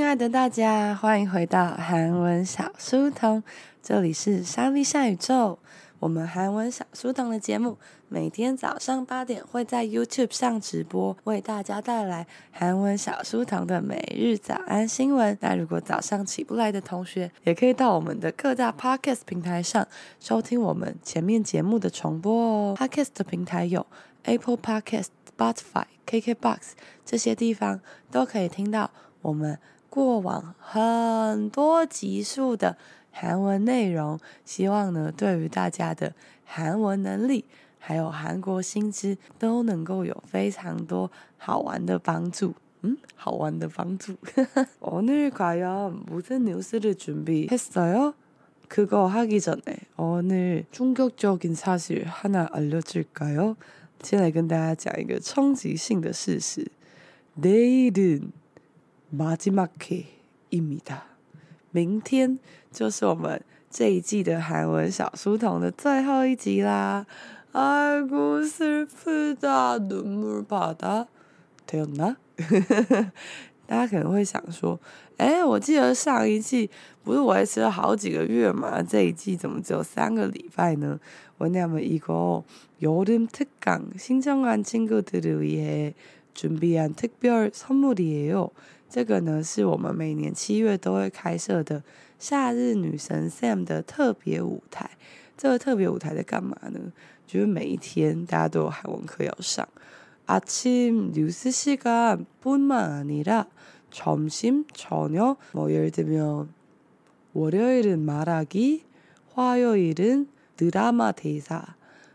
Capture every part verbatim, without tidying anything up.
愛的大家，歡迎回到韓文小書童，這裡是莎莉夏宇宙。我們韓文小書童的節目每天早上八點會在 YouTube 上直播，為大家帶來韓文小書童的每日早安新聞。那如果早上起不來的同學，也可以到我們的各大 Podcast 平台上收聽我們前面節目的重播哦。Podcast 的平台有 Apple Podcast、Spotify、K K Box 這些地方都可以聽到我們過往很多集數的韓文內容，希望呢，對於大家的韓文能力還有韓國新知都能夠有非常多好玩的幫助。嗯，好玩的幫助。오늘 과연 무슨 뉴스를 준비했어요? 그거 하기 전에 오늘 충격적인 사실 하나 알려줄까요? 先來跟大家講一個衝擊性的事實。내일은 마지막 회입니다. 明天就是我們這一季的韓文小書童的最後一集啦。아이고 슬프다 눈물바다 되었나? 大家可能會想說，哎，我記得上一季不是維持了好幾個月嗎？這一季怎麼只有三個禮拜呢？왜냐면 이거 여름 특강 신청한 친구들을 위해 준비한 특별 선물이에요. 這個呢是我們每年七月都會開設的夏日女神 Sam 的特別舞台。這個特別舞台在幹嘛呢？就是每一天大家都有韓文課要上。아침 뉴스 시간뿐만 아니라 점심, 저녁, 뭐 예를 들면 월요일은 말하기, 화요일은 드라마 대사,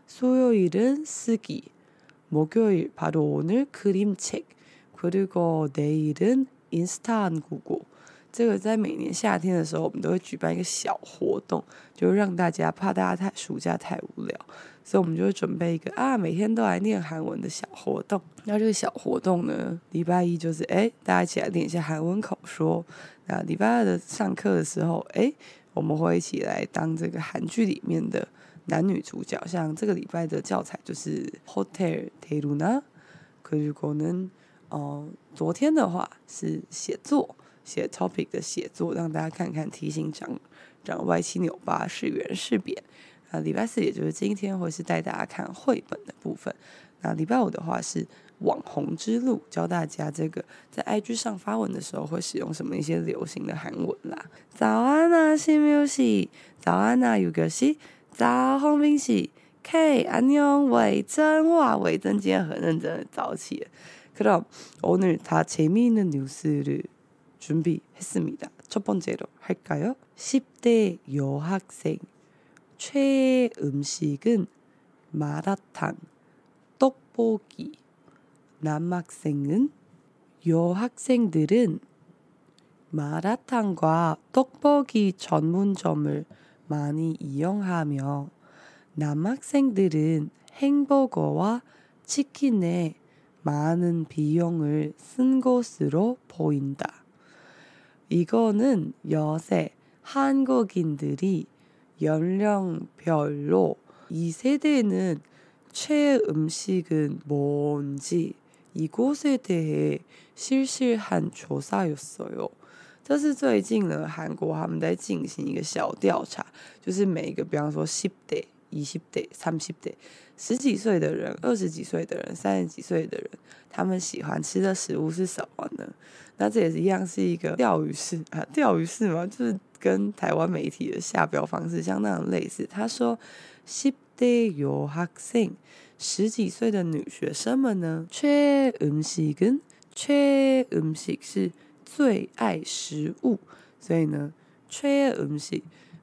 수요일은 쓰기, 목요일 바로 오늘 그림책, 그리고 내일은 인스타 한국어。這個在每年夏天的時候，我們都會舉辦一個小活動，就讓大家怕大家太暑假太無聊，所以我們就會準備一個啊，每天都來念韓文的小活動。那這個小活動呢，禮拜一就是哎，大家一起來練一下韓文口說。那禮拜二的上課的時候，哎，我們會一起來當這個韓劇裡面的男女主角。像這個禮拜的教材就是《Hotel Deluna》，그리고는哦，昨天的話是寫作。寫 topic 的寫作，讓大家看看題型長長歪七扭八，是圓是扁。啊，禮拜四也就是今天會是帶大家看繪本的部分。那禮拜五的話是網紅之路，教大家這個在 I G 上發文的時候會使用什麼一些流行的韓文啦。早安啊，신미우 씨，早安啊，유교 씨，早홍빈 씨，K，安妞，偉珍，哇，偉珍今天很認真的早起了。그럼 오늘 다 재미있는 뉴스를 준비했습니다. 첫 번째로 할까요? 십 대 여학생 최애 음식은 마라탕, 떡볶이. 남학생은 여학생들은 마라탕과 떡볶이 전문점을 많이 이용하며 남학생들은 햄버거와 치킨에 많은 비용을 쓴 것으로 보인다. 이거는 요새 한국인들이 연령별로 이 세대는 최애 음식은 뭔지 이것에 대해 실시한 조사였어요. 這是最近呢，韓國他們在進行一個小調查，就是每一個，比方說十代、二十代、三十代，十幾歲的人、二十幾歲的人、三十幾歲的人，他們喜歡吃的食物是什麼呢？那這也是一樣，是一個釣魚式啊，釣魚式嘛，就是跟台灣媒體的下標方式相當的類似。他說，十代여학생，十幾歲的女學生們呢，최애 음식은 최애 음식是最愛食物，所以呢，최애 음식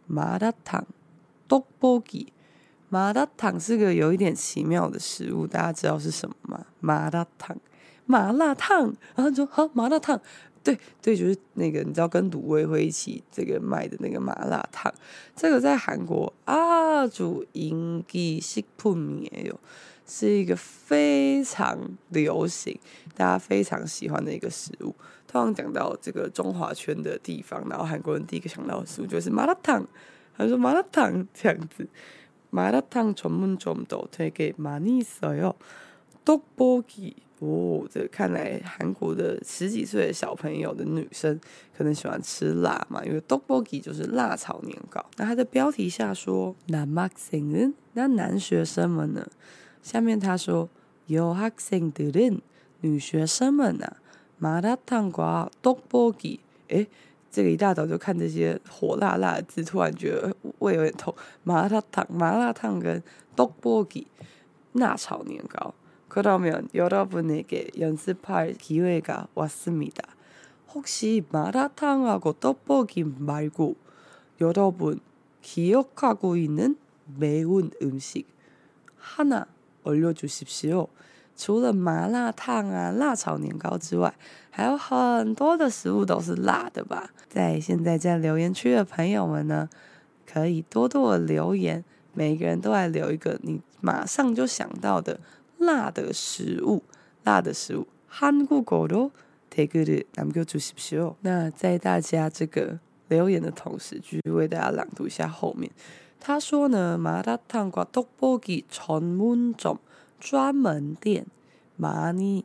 마라탕、떡볶이。麻辣燙是個有一點奇妙的食物，大家知道是什麼嗎？麻辣燙，麻辣燙，然後就說哈，麻辣燙，對對，就是那個你知道跟滷味會一起這個賣的那個麻辣燙，這個在韓國아주 인기 식품이에요，是一個非常流行、大家非常喜歡的一個食物。通常講到這個中華圈的地方，然後韓國人第一個想到的食物就是麻辣燙，他說麻辣燙這樣子。마라탕 전문점도 되게 많이 있어요. 떡볶이 哦，這看來韓國的十幾歲的小朋友的女生可能喜歡吃辣嘛，因為 떡볶이就是辣炒年糕。那它的標題下說남학생은，那男學生們呢？下面他說여학생들은，女學生們啊，마라탕과 떡볶이。誒，這個一大早就看這些火辣辣的字，突然覺得胃有點痛。麻辣燙，麻辣燙跟 떡볶이，辣炒年糕。그러면 여러분에게 연습할 기회가 왔습니다. 혹시 마라탕하고 떡볶이 말고 여러분 기억하고 있는 매운 음식 하나 알려주십시오. 除了麻辣燙啊、辣炒年糕之外，還有很多的食物都是辣的吧？在現在在留言區的朋友們呢，可以多多的留言，每個人都來留一個你馬上就想到的辣的食物，辣的食物。한국어로 댓글을 남겨주십시오。那在大家這個留言的同時，繼續為大家朗讀一下後面。他說呢，마라탕과 떡볶이 전문점專門店많이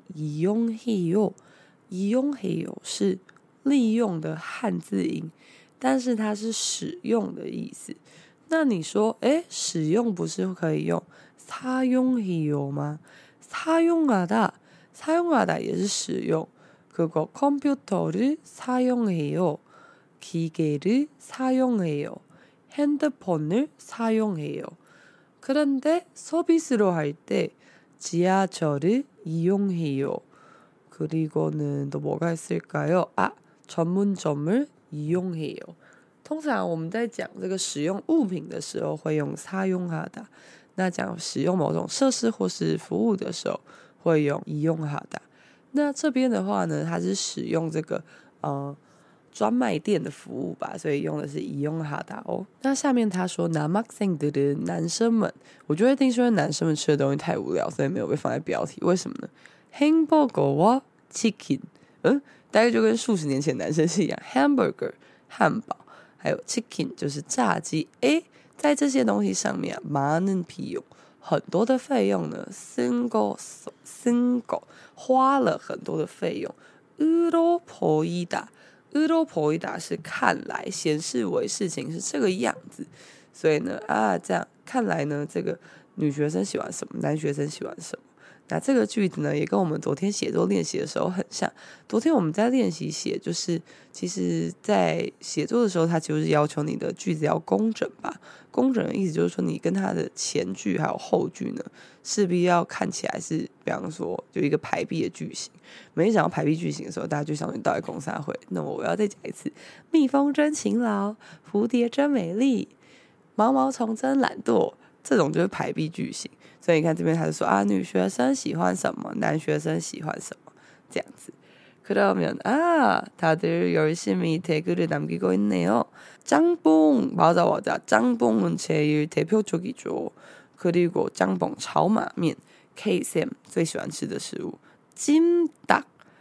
이용해요。이용해요是利用的漢字音，但是它是使用的意思。那你說，誒，使用不是可以用사용해요嗎？사용하다，사용하다也是使用。그거 컴퓨터를 사용해요. 기계를 사용해요. 핸드폰을 사용해요. 그런데 서비스로 할 때 지하철을 이용해요. 그리고는 또 뭐가 있을까요? 아, 전문점을 이용해요. 通常我們在講這個使用物品的時候會用사용하다，那講使用某種設施或是服務的時候會用이용하다。那這邊的話呢，它是使用這個呃專賣店的服務吧，所以用的是이용하다哦。那下面他說남학생들은男生們，我覺得一定是因為男生們吃的東西太無聊，所以沒有被放在標題。為什麼呢？햄버거와 치킨，嗯，大概就跟數十年前男生是一樣 ，hamburger 漢堡。還有 chicken 就是炸雞，誒，在這些東西上面啊，많은 비용很多的費用呢，쓴 거 쓴 거花了很多的費用，으로 보이다 으로 보이다是看來顯示為事情是這個樣子，所以呢啊，這樣看來呢，這個女學生喜歡什麼，男學生喜歡什麼。那這個句子呢，也跟我們昨天寫作練習的時候很像。昨天我們在練習寫，就是其實在寫作的時候，它就是要求你的句子要工整吧。工整的意思就是說，你跟它的前句還有後句呢，勢必要看起來是，比方說就一個排比的句型。每一講到排比句型的時候，大家就想說你到底公啥會？那麼我要再講一次：蜜蜂真勤勞，蝴蝶真美麗，毛毛蟲真懶惰。這種就是排比句型。所以你看這邊他就說啊，女學生喜歡什麼，男學生喜歡什麼，這樣子。그러면 아, 다들 열심히 댓글을 남기고 있네요. 짬뽕, 맞아 맞아. 짬뽕은 제일 대표적이죠. 그리고 짬뽕, 炒马面 K-쌤最喜歡吃的食物. 찜닭,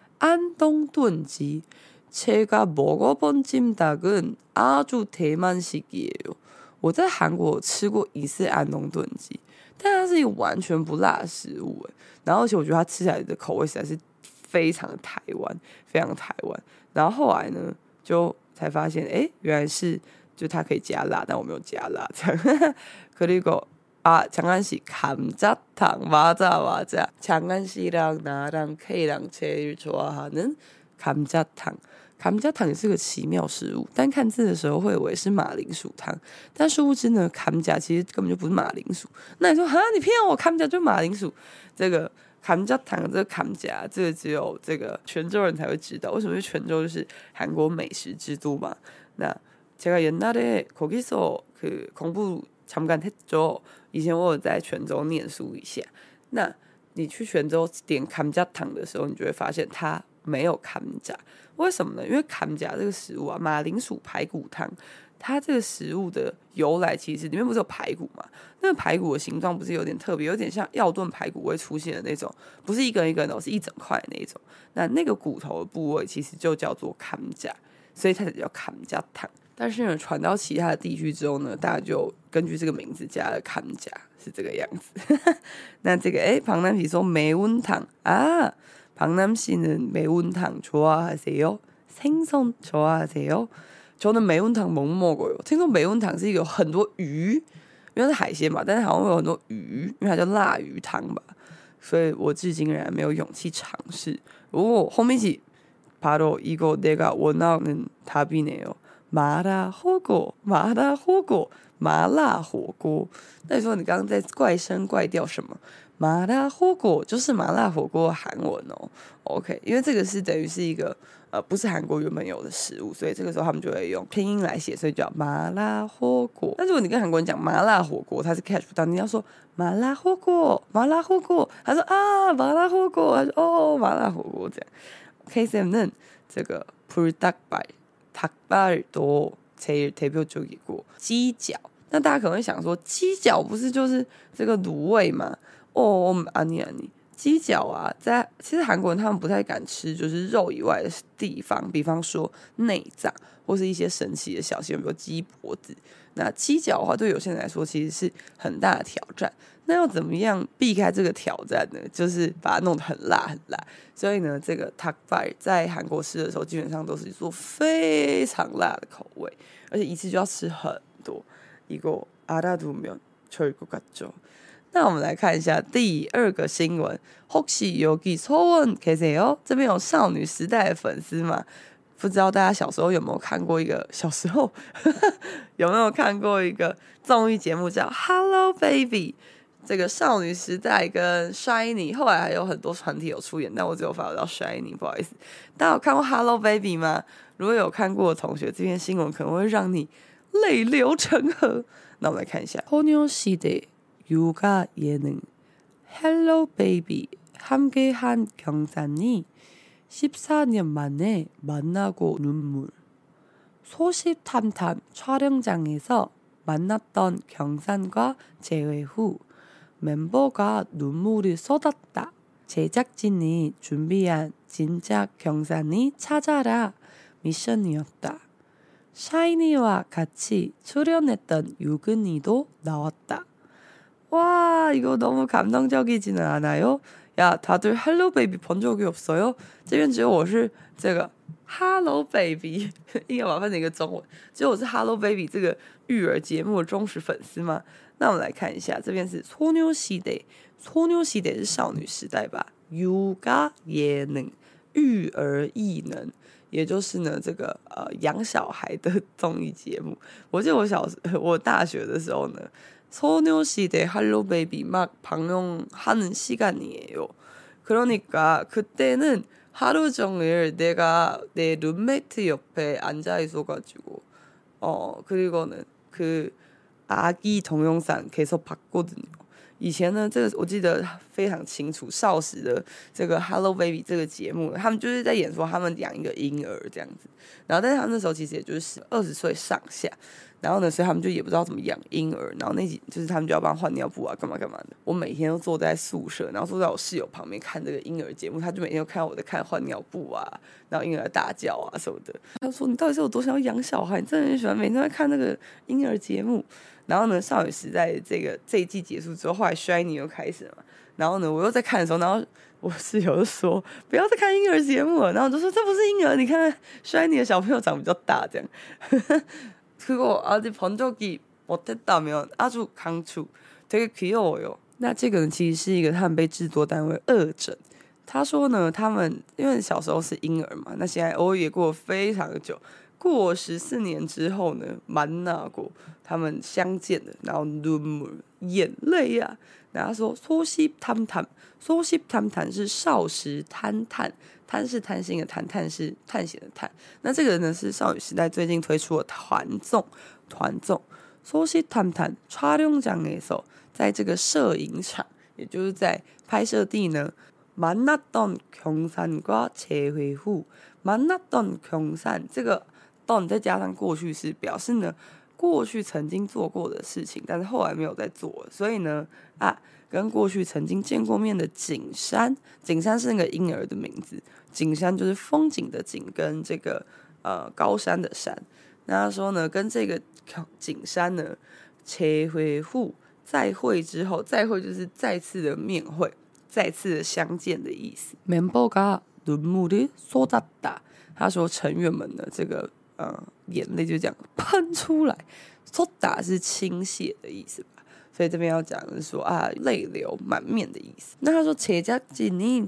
안동 燉지. 제가 먹어본 찜닭은 아주 대만식이에요. 我在韓國吃過一次安東燉雞，但它是一個完全不辣的食物，然後而且我覺得它吃起來的口味實在是非常的台灣，非常台灣。然後後來呢，就才發現，哎，原來是就它可以加辣，但我沒有加辣。這樣，그리고 아 장한씨 감자탕 맞아 맞아. 장한씨랑 나랑 K랑 제일 좋아하는 감자탕. 감자탕也是個奇妙食物，單看字的時候會以為是馬鈴薯湯，但殊不知呢，감자其實根本就不是馬鈴薯。那你說哈，你騙我，감자就是馬鈴薯。這個감자탕這個감자，這個只有這個泉州人才會知道。為什麼？因為泉州就是韓國美食之都嘛。那제가 옛날에 거기서 그 공부 잠깐 했죠。以前我有在泉州念書一下。那你去泉州點감자탕的時候，你就會發現它沒有감자。為什麼呢？因為감자這個食物啊，馬鈴薯排骨湯，它這個食物的由來其實裡面不是有排骨嘛？那個排骨的形狀不是有點特別，有點像藥燉排骨會出現的那種，不是一根一根的，是一整塊的那種。那那個骨頭的部位其實就叫做감자。 所以它才叫감자탕。但是呢，傳到其他的地區之後呢，大家就根據這個名字加了감자，是這個樣子。那這個哎，박남씨說매운탕啊，박남씨는 매운탕 좋아하세요? 생선 좋아하세요? 저는 매운탕 못 먹어요.聽說매운탕是一個有很多魚，因為是海鮮嘛，但是好像會有很多魚，因為它叫辣魚湯吧，所以我至今仍然沒有勇氣嘗試。哦，後面是바로 이거 내가 원하는 답이네요.麻辣火鍋，麻辣火鍋，麻辣火鍋。那你說你剛剛在怪聲怪調什麼？麻辣火鍋就是麻辣火鍋韓文哦。OK， 因為這個是等於是一個呃不是韓國原本有的食物，所以這個時候他們就會用拼音來寫，所以叫麻辣火鍋。那如果你跟韓國人講麻辣火鍋，他是 catch 不到，你要說麻辣火鍋，麻辣火鍋，他說啊麻辣火鍋，他說哦麻辣火鍋這樣。케이씨엠은這個불닭발 닭발도 제일 대표적이고雞腳，那大家可能會想說，雞腳不是就是這個滷味嗎？哦，아니아니，雞腳啊，在其實韓國人他們不太敢吃，就是肉以外的地方，比方說內臟或是一些神奇的小細胞，比如雞脖子。那雞腳的話，對有些人來說其實是很大的挑戰。那要怎麼樣避開這個挑戰呢？就是把它弄得很辣很辣。所以呢，這個닭발在韓國吃的時候，基本上都是做非常辣的口味，而且一次就要吃很多。이거 알아두면 좋을 것 같죠？那我們來看一下第二個新聞。혹시 여기 소원 계세요？這邊有少女時代的粉絲嗎？不知道大家小時候有沒有看過一個小時候呵呵有沒有看過一個綜藝節目叫《Hello Baby》？這個少女時代跟 Shiny 後來還有很多團體有出演，但我只有發到 Shiny， 不好意思。大家有看過 Hello Baby 嗎？如果有看過的同學，這篇新聞可能會讓你淚流成河。那我們來看一下소녀시대 육아 예능 Hello Baby 함께한 경산이 십사 년 만에 만나고 눈물. 소십탐탐 촬영장에서 만났던 경산과 재회 후 멤버가 눈물을 쏟았다. 제작진이 준비한 진짜 경산이 찾아라 미션이었다. 샤이니와 같이 출연했던 유근이도 나왔다. 와, 이거 너무 감동적이지는 않아요? 야, 다들 Hello Baby 본 적이 없어요? 這邊只有我是這個 Hello Baby 應該把它翻成一個中文，只有我是 Hello Baby 這個育兒節目的忠實粉絲嗎？那我們來看一下，這邊是소녀시대，소녀시대是少女時代吧？육아 예능育兒藝能，也就是呢這個呃養小孩的綜藝節目。我記得我小時我大學的時候呢。소녀시대 Hello Baby 막 방영하는 시간이에요. 그러니까 그때는 하루 종일 내가 내 룸메이트 옆에 앉아 있어가지고 어 그리고는 그 아기 동영상 계속 봤거든요. 以前呢，這個我記得非常清楚，少時的這個 Hello Baby 這個節目，他們就是在演說他們養一個嬰兒這樣子，然後但是他們那時候其實也就是二十歲上下，然後呢，所以他們就也不知道怎麼養嬰兒，然後那集就是他們就要幫他換尿布啊，幹嘛幹嘛的。我每天都坐在宿舍，然後坐在我室友旁邊看這個嬰兒節目，他就每天都看到我在看換尿布啊，然後嬰兒大叫啊什麼的。他就說：“你到底是有多想要養小孩？你真的很喜歡每天都在看那個嬰兒節目。”然後呢，少女時代這個這一季結束之後，後來 Shiny 又開始了嘛。然後呢，我又在看的時候，然後我室友就說：“不要再看嬰兒節目了。”然後我就說：“這不是嬰兒，你看 Shiny 的小朋友長比較大，這樣。”그거아직본적이 못했다면 아주 강추，되게 귀여워요。那這個呢，其實是一個他們被制作單位惡整。他說呢，他們因為小時候是嬰兒嘛，那現在偶爾也過了非常的久。過十四年之後呢，만나고他們相見了，然後눈물眼淚呀、啊。然後他說소십탐탐，소십탐탐是少時貪探，貪是貪心的貪，探是探險的探。那這個呢是少女時代最近推出的團綜，團綜소십탐탐 촬영장에서在這個攝影場，也就是在拍攝地呢。만났던 경산과 재회 후 만났던 경산這個던再加上過去式，表示呢過去曾經做過的事情，但是後來沒有再做了，所以呢啊跟過去曾經見過面的景山，景山是那個嬰兒的名字，景山就是風景的景跟這個呃高山的山。那他說呢，跟這個景山呢，切會互再會之後，再會就是再次的面會，再次的相見的意思。멤버가 눈물을 쏟았다。他說成員們的這個呃眼淚就這樣噴出來，쏟다是傾瀉的意思吧？所以這邊要講的是說啊，淚流滿面的意思。那他說제작진이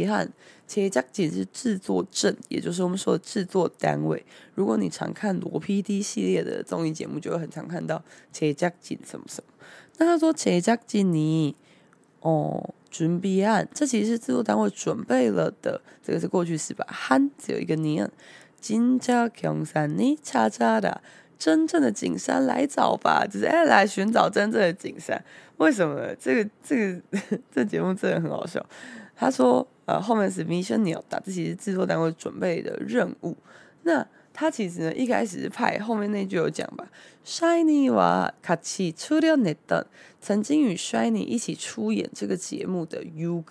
준비한，제작진是制作陣，也就是我們說的制作單位。如果你常看羅 P D 系列的綜藝節目，就會很常看到제작진什麼什麼。那他說제작진이哦준비한，這其實是制作單位準備了的，這個是過去式吧？한只有一個니은，진짜 경산이 찾아라。真正的景山來找吧，就是哎來尋找真正的景山。為什麼呢？這個這個這節目真的很好笑。他說呃後面是 mission鳥打，這其實制作單位準備的任務。那他其實呢一開始是派後面那句有講吧 ，SHINee 와 같이 출연했던，曾經與 SHINee一起出演這個節目的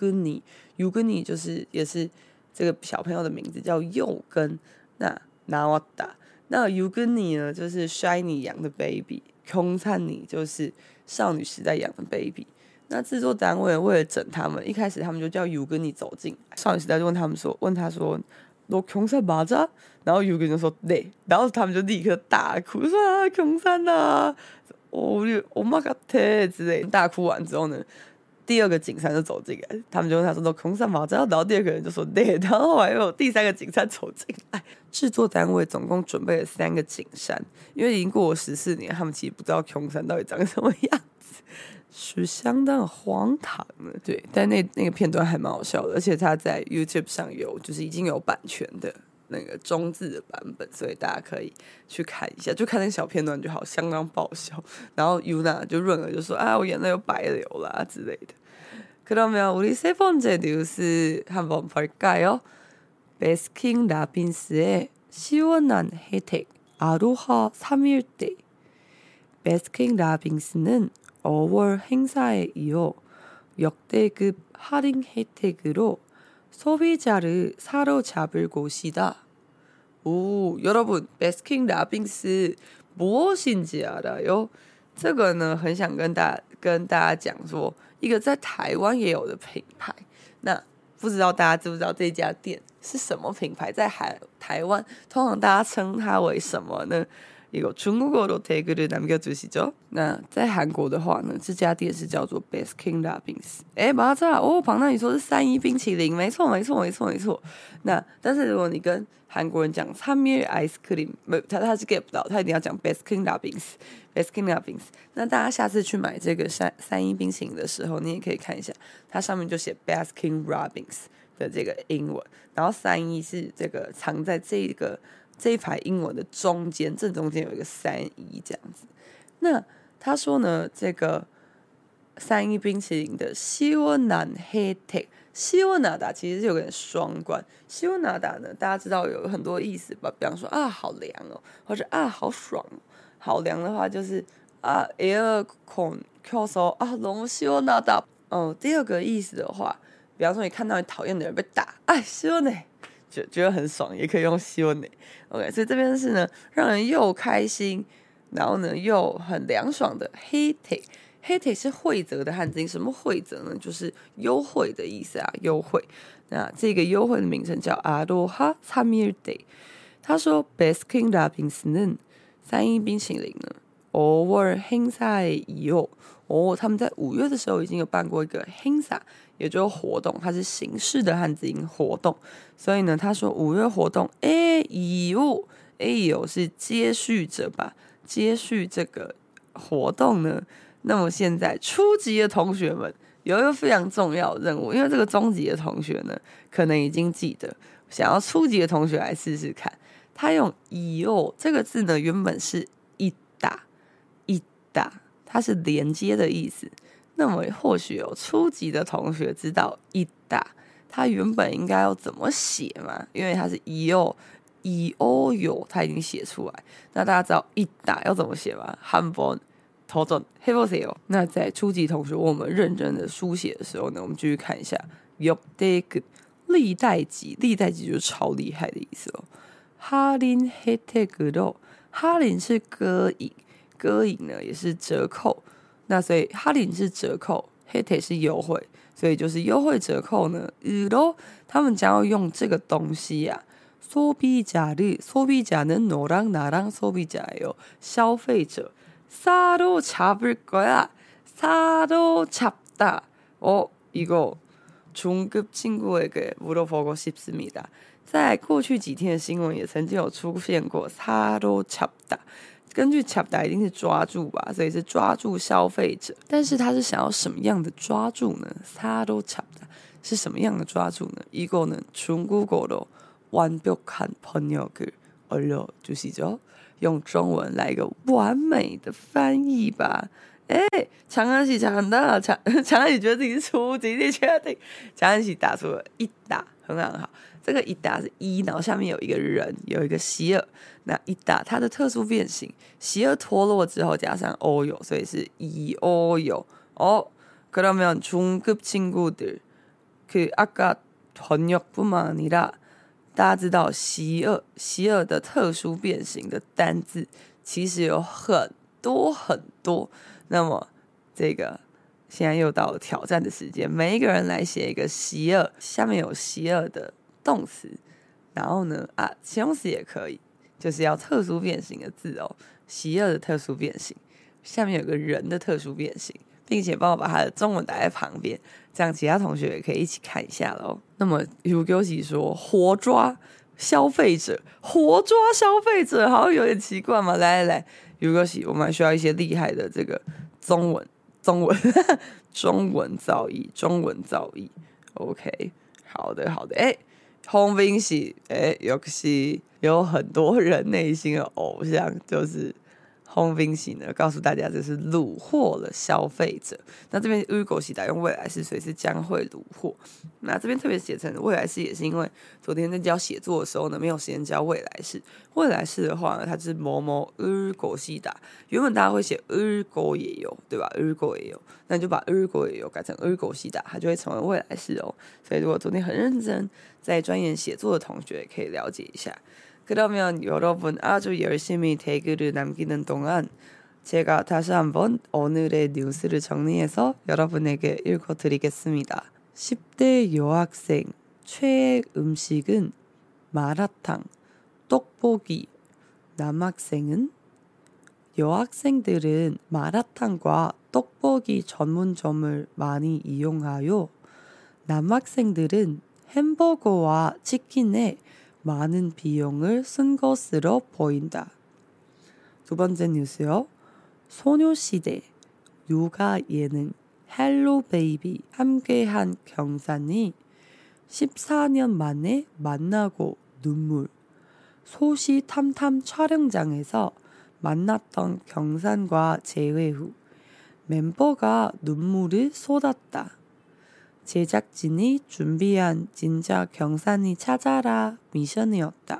유근이，유근이就是也是這個小朋友的名字叫佑根。那나왔다。那 유근이呢，就是 SHINee 養的 baby，경산이就是少女時代養的 baby。那制作單位為了整他們，一開始他們就叫 유근이走進來，少女時代就問他們說，問他說，너 경산 맞아？然後 유근이就說對，然後他們就立刻大哭，說啊경산啊，我엄마 같아之類的。大哭完之後呢，第二個景山就走進來，他們就問他說：“都空山嗎？”然後，然後第二個人就說：“對。”然後後來又有第三個景山走進來。制作單位總共準備了三個景山，因為已經過了十四年，他們其實不知道空山到底長什麼樣子，是相當荒唐的。對，但那那個片段還蠻好笑的，而且他在 YouTube 上有就是已經有版權的那個中字的版本，所以大家可以去看一下，就看那個小片段就好，相當爆笑。然後 Yuna 就潤兒就說啊，我眼淚又白流啦之類的。그러면 우리 세 번째 뉴스 한번 볼까요? 베스킨라빈스의 시원한 혜택 아로하 삼 일대. 베스킨라빈스는 어월 행사에 이어 역대급 할인 혜택으로 소비자를 사로잡을 곳이다. 오, 여러분, 베스킨라빈스 무엇인지 알아요? 这個呢，很想跟大跟大家講說，一個在台灣也有的品牌。那不知道大家知不知道這家店是什麼品牌？在海台灣，通常大家稱它為什麼呢？이거 중국어로 댓글을 남겨주시죠. 那在韓國的話呢，這家店是叫做 베스킨라빈스。哎，맞아，哦，龐大你說是三一冰淇淋，沒錯，沒錯，沒錯，沒錯。那但是如果你跟韓國人講三一 ice cream， 他他是 get 不到，他一定要講 베스킨라빈스，베스킨라빈스。那大家下次去買這個三三一冰淇淋的時候，你也可以看一下，它上面就寫 Baskin-Robbins 的這個英文，然後三一是這個藏在這個。這一排英文的中間，正中間有一個三一這樣子。那他說呢，這個三一冰淇淋的시원한 혜택，시원하다其實是有點雙關。시원하다呢，大家知道有很多意思吧？比方說啊，好涼哦，或者啊，好爽哦。好涼的話就是啊，에어컨 켜서啊，너무 시원하다。哦，第二個意思的話，比方說你看到你討厭的人被打，哎，시원해。覺覺得很爽，也可以用시원해。OK， 所以這邊是呢，讓人又開心，然後呢又很涼爽的혜택。혜택是惠澤的漢字音，什麼惠澤呢？就是優惠的意思啊，優惠。那這個優惠的名稱叫아로하 삼 일대。他說베스킨라빈스는三一冰淇淋呢，오월 행사에 이어，哦，他們在五月的時候已經有辦過一個행사。也就是活動，它是形式的漢字音活動，所以呢，他說五月活動，哎呦，哎呦是接續着吧，接續這個活動呢。那麼現在初級的同學們有一個非常重要的任務，因為這個中級的同學呢，可能已經記得，想要初級的同學來試試看，他用哎呦這個字呢，原本是一打一打，它是連接的意思。那麼或許有初級的同學知道一打它原本應該要怎麼寫嘛？因為它是一哦一哦有，它已經寫出來。那大家知道一打要怎麼寫嗎？한번 도전 해보세요。那在初級同學我們認真的書寫的時候呢，我們繼續看一下역대급歷代級，歷代級就是超厲害的意思哦。 할인 혜택으로 할인是歌影，歌影呢也是折扣，那所以할인是折扣，혜택是優惠，所以就是優惠折扣呢，으로他們將要用這個東西呀、啊。소비자를 소비자는 너랑 나랑 소비자예요.消費者 사로잡을 거야. 사로잡다. 어, 이거 중급 친구에게 물어보고 싶습니다. 在過去幾天的新聞也曾經有出現過 사로잡다。根據 잡다 一定是抓住吧，所以是抓住消費者。但是他是想要什麼樣的抓住呢？ 사로잡다是什麼樣的抓住呢？ 이거는 중국어로 완벽한 번역을 알려주시죠. 用中文來一個完美的翻譯吧。哎，長安喜잘한다，長長安喜覺得自己是初級，你確定？長安喜打出了一打，很好很好。這個一打是一，然後下面有一個人，有一個希爾。那一打它的特殊變形，希爾脫落之後加上어요，所以是이어요。哦，그러면 중급 친구들 그 아까 번역뿐만 아니라大家知道希爾希爾的特殊變形的單字其實有很多很多。那麼這個現在又到了挑戰的時間，每一個人來寫一個希爾，下面有希爾的動詞，然後呢啊形容詞也可以，就是要特殊變形的字哦。希爾的特殊變形，下面有個人的特殊變形，並且幫我把它的中文打在旁邊，這樣其他同學也可以一起看一下嘍。那麼如果是說活抓消費者，活抓消費者好像有點奇怪嘛。來來來，如果是我們還需要一些厲害的這個中文中文中文造詣中文造詣 OK 好的好的。哎，洪斌喜哎，尤其有很多人內心的偶像就是洪斌喜呢，告訴大家這是虜獲了消費者。那這邊日狗喜打用未來式，所以是將會虜獲。那這邊特別寫成未來式，也是因為昨天在教寫作的時候呢，沒有時間教未來式。未來式的話呢，它就是某某日狗喜打。原本大家會寫日狗也有，對吧？日狗也有，那你就把日狗也有改成日狗喜打，它就會成為未來式哦。所以如果昨天很認真在鑽研寫作的同學，也可以了解一下。그러면 여러분 아주 열심히 댓글을 남기는 동안 제가 다시 한번 오늘의 뉴스를 정리해서 여러분에게 읽어드리겠습니다. 십 대 여학생 최애 음식은 마라탕, 떡볶이. 남학생은? 여학생들은 마라탕과 떡볶이 전문점을 많이 이용하여 남학생들은 햄버거와 치킨에 많은 비용을 쓴 것으로 보인다. 두 번째 뉴스요. 소녀시대 육아 예능 헬로 베이비 함께한 경산이 십사 년 만에 만나고 눈물. 소시탐탐 촬영장에서 만났던 경산과 재회 후 멤버가 눈물을 쏟았다. 제작진이 준비한 진짜 경산이 찾아라 미션이었다.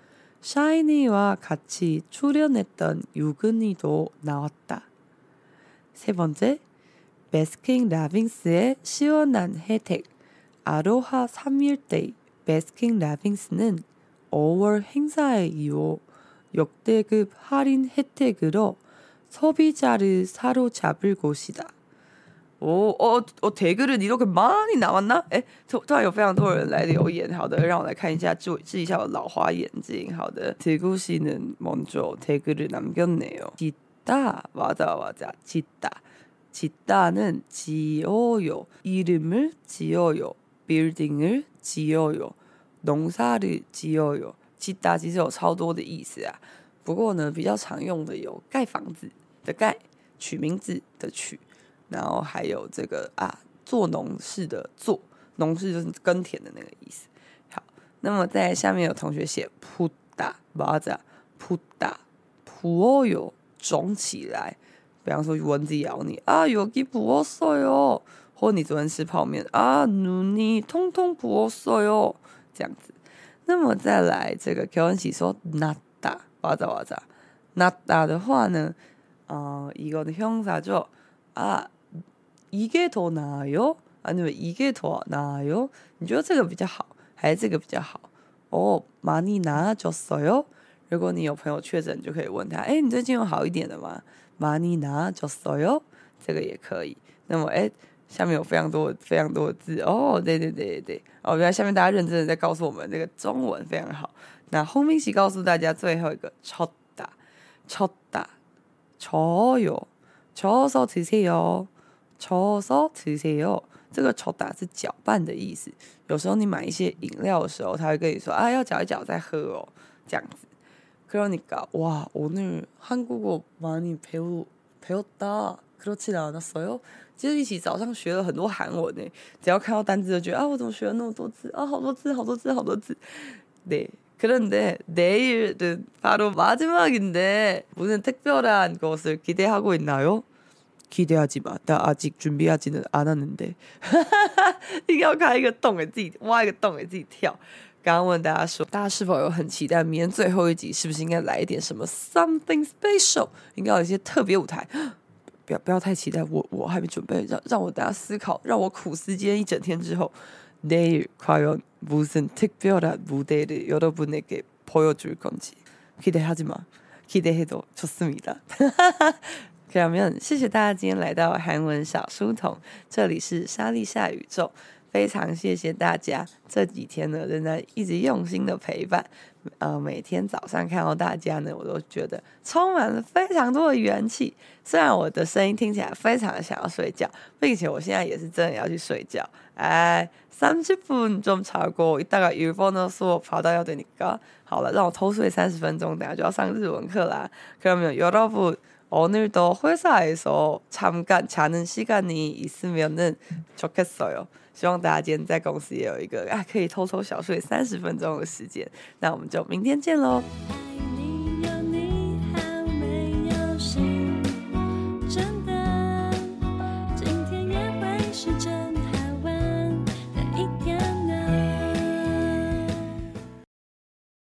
샤이니와 같이 출연했던 유근이도 나왔다. 세 번째, 베스킨 라빈스의 시원한 혜택 아로하 삼일데이. 베스킨 라빈스는 오월 행사에 이어 역대급 할인 혜택으로 소비자를 사로잡을 곳이다. 哦哦哦！댓글은 이렇게 많이 나왔나？哎，突突然有非常多人來留言。好的，讓我來看一下，注注意一下我老花眼睛。好的，대구시는 먼저 댓글을 남겼네요. 짓다 맞아 맞아 짓다 짓다는 지어요. 이름을 지어요. 빌딩을 지어요. 농사를 지어요. 짓다其實有超多的意思啊。不過呢，比較常用的有蓋房子的蓋，取名字的取。然後還有這個啊，做農事的做，農事就是耕田的那個意思。好，那麼在下面有同學寫撲打，把它撲打，撲有腫起來。比方說蚊子咬你啊，여기 부었어요，或你昨天吃泡麵啊，눈이 통통 부었어요，這樣子。那麼再來這個결혼식說났다，맞아 맞아，났다的話呢，呃，이거는 형사죠。啊。이게 더 나아요? 아니면 이게 더 나아요? 你覺得這個比較好，還是這個比較好？ 哦，많이 나아졌어요？如果你有朋友確診，你就可以問他，哎，你最近有好一點了嗎？많이 나아졌어요？這個也可以。那麼，哎，下面有非常多非常多的字哦，對對對對對，哦，原來下面大家認真的在告訴我們這個中文非常好。那홍민씨告訴大家最後一個쳤다，쳤다，저요，저어서 드세요，저어서 드세요。這個쳤다是攪拌的意思。有時候你買一些飲料的時候，他會跟你說啊，要攪一攪再喝哦，這樣子。그러니까 와 오늘 한국어 많이 배우 배웠다. 그렇진 않았어요? 其實一起早上學了很多韓文呢，只要看到單字就覺得啊，我怎麼學了那麼多字啊，好多字，好多字，好多字。네. 그런데 내일은 바로 마지막인데 무슨 특별한 것을 기대하고 있나요? 기대하지 마. 나 아직 준비하지는 않았는데. 一定要開一個洞給自己，挖一個洞給自己跳。剛剛問大家說，大家是否有很期待明天最後一集是不是應該來一點什麼 something special？ 應該有一些特別舞台。不要不要太期待，我我還沒準備，讓讓我大家思考，讓我苦思今天一整天之後， 내일 과연 무슨 특별한 무대를 여러분에게 보여줄 건지 기대하지 마. 기대해도 좋습니다. 그러면 謝謝大家今天來到韓文小書童，這裡是莎莉夏宇宙。非常謝謝大家這幾天呢，仍然一直用心的陪伴。呃，每天早上看到大家呢，我都覺得充滿了非常多的元氣。雖然我的聲音聽起來非常的想要睡覺，並且我現在也是真的要去睡覺。哎，삼십 분 좀 자고 이따가 일본어 수업 받아야 되니까. 好了，讓我偷睡三十分鐘，等下就要上日文課啦。그러면 여러분 오늘도 회사에서 잠깐 자는 시간이 있으면은 좋겠어요. 希望大家今天在公司也有一個啊可以偷偷小睡三十分鐘的時間。那我們就明天見嘍。